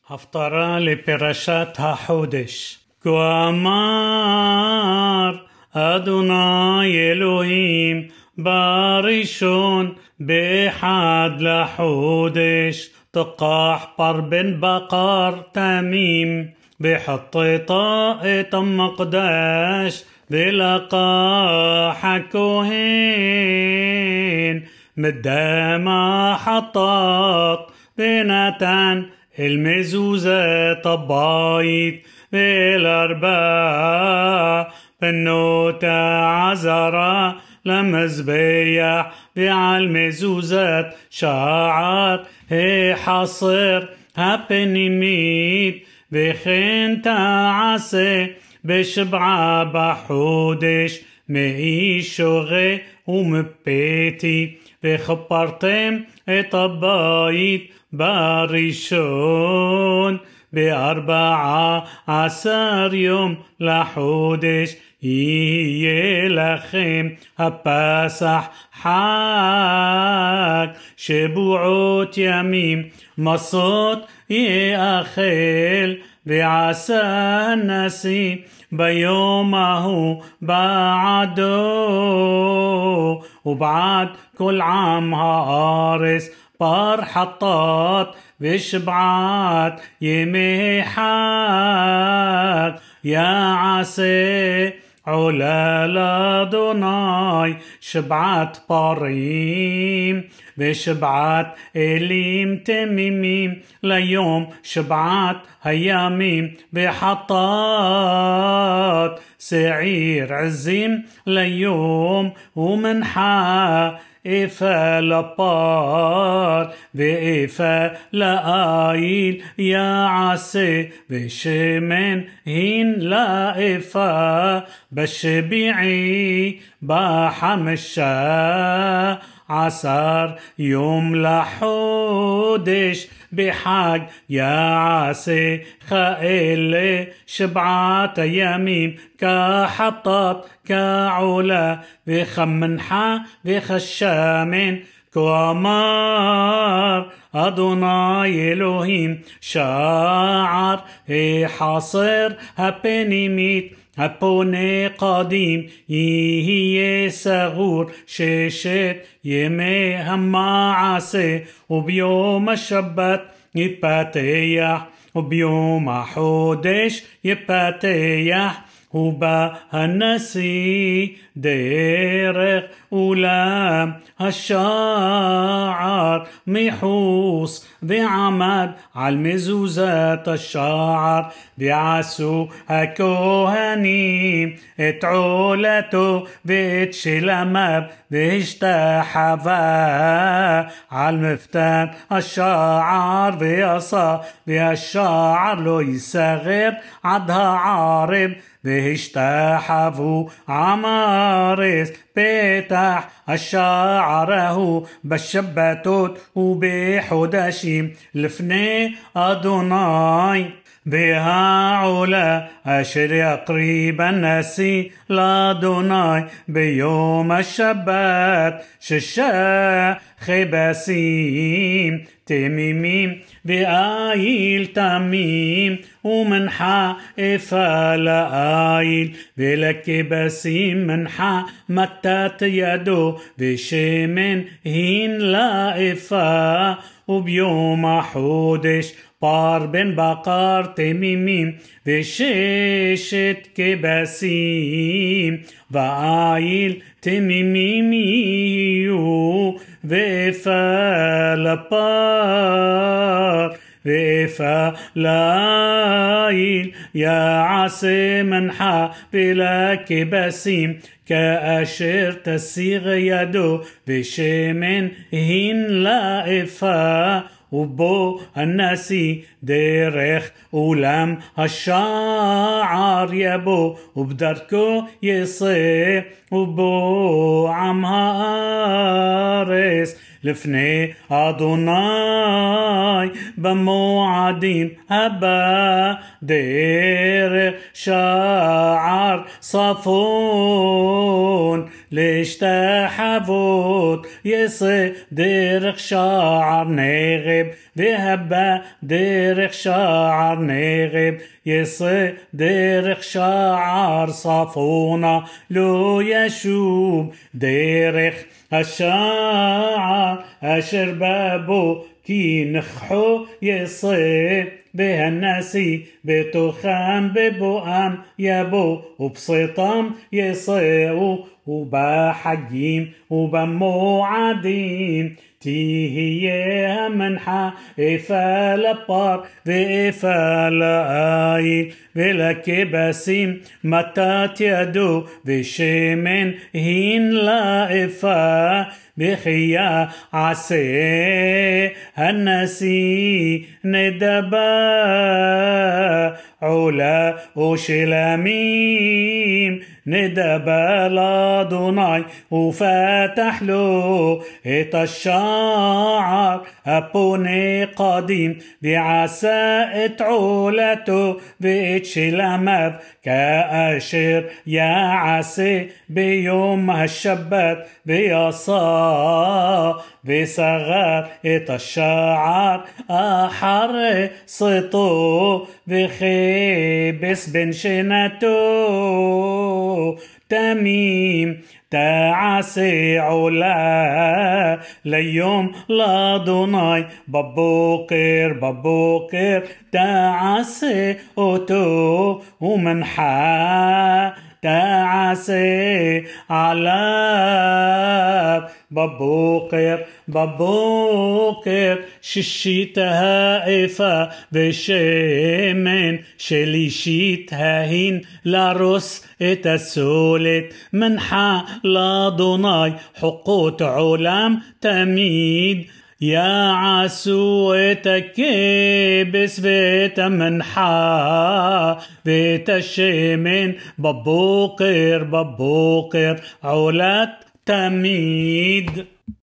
הפטרה לפרשת החודש. כה אמר אדוני אלוהים בראשון באחד לחודש תקח פר בן בקר תמים بحطيطة المقداش بلقاح الكهين مدام حطاط بنتان المزوزة طبايت بالأربعة بنوتا عزرا لمزبيح بعالمزوزات شعر هي حصر هبنميت וכן תעשה בשבעה בחודש מאישורי ומפתי וכפרתם את הבית בראשון ב14 יום לחודש יהיה לכם הפסח חג שבועות ימים מסות יאכל ועשה הנשיא ביום ההוא בעדו ובעד כל עם הארץ פר חטאת ושבעת ימי חג יעשה עולה לאדוני שבעת פרים ושבעת אלים תמימים ליום שבעת הימים וחטאת שעיר עזים ליום ומנחה إفا لبار وإفا لآيل يا عسي بشمن هين لا إفا بشبيعي بحمشا عصر يوم لحودش بحق يا عسي خائل شبعات يمين كحطات كعلا وخمنحا وخشامين كوامار أدوناي إلهيم شاعر حاصر هبنيميت הפונה קדים יהיה סגור ששת ימי המעשה וביום השבת יפתח וביום החודש יפתח ובא הנשיא דרך אולם השער מחוץ ועמד על מזוזת השער ועשו הכהנים את עולתו ואת שלמיו והשתחווה על מפתן השער ועשה והשער לא ייסגר עד הערב והשתחוו עם הארץ פתח השער ההוא בשבתות ובחודשים לפני אדוני והעולה אשר יקריב הנשיא לאדוני ביום השבת שישה כבשים תמימים ואיל תמים ומנחה אפה לאיל ולכבשים מנחה מתת ידו ושמן הין לאפה וביום החודש פר בן בקר תמימים וששת כבשים ואיל תמימים יהיו ואפה לפר ואפה לאיל יעשה מנחה ולכבשים כאשר תסיג ידו ושמן הין לאפה ובו הנשיא דרך אולם השער יבוא ובדרכו יצא ובו עם הארץ לפני אדוני במועדים הבא דרך שער צפון להשתחוות, יצא דרך שער נגב, והבא דרך שער נגב, יצא דרך שער צפונה, לא ישוב דרך השער אשר בבו, כי נכחו יצא בהנשיא, בתוכם בבואם יבוא, ובצאתם יצאו, ובחגים ובמועדים תהיה המנחה, איפה לפר ואיפה לעיל, ולכבשים מטת ידו, ושמן הין לאיפה, בחייה עשה הנשיא נדבה, עולה ושלמים נדבה לאדוני, ופתח לו את השער הפונה קדים, ועשה את עולתו ואת שלמיו, כאשר יעשה ביום השבת, ויעשה וסגר את השער אחרי צאתו, וכבש בן שנתו תמים, תעשה עולה ליום לאדוני, בבוקר תעשה אותו, ומנחה תעשה עליו, בבוקר שישית האיפה, ושמן שלישית ההין לרוס את הסולת, מנחה לאדוני, חוקות עולם תמיד, יעשו את הכבש ואת המנחה ואת השמן, בבוקר עולת תמיד.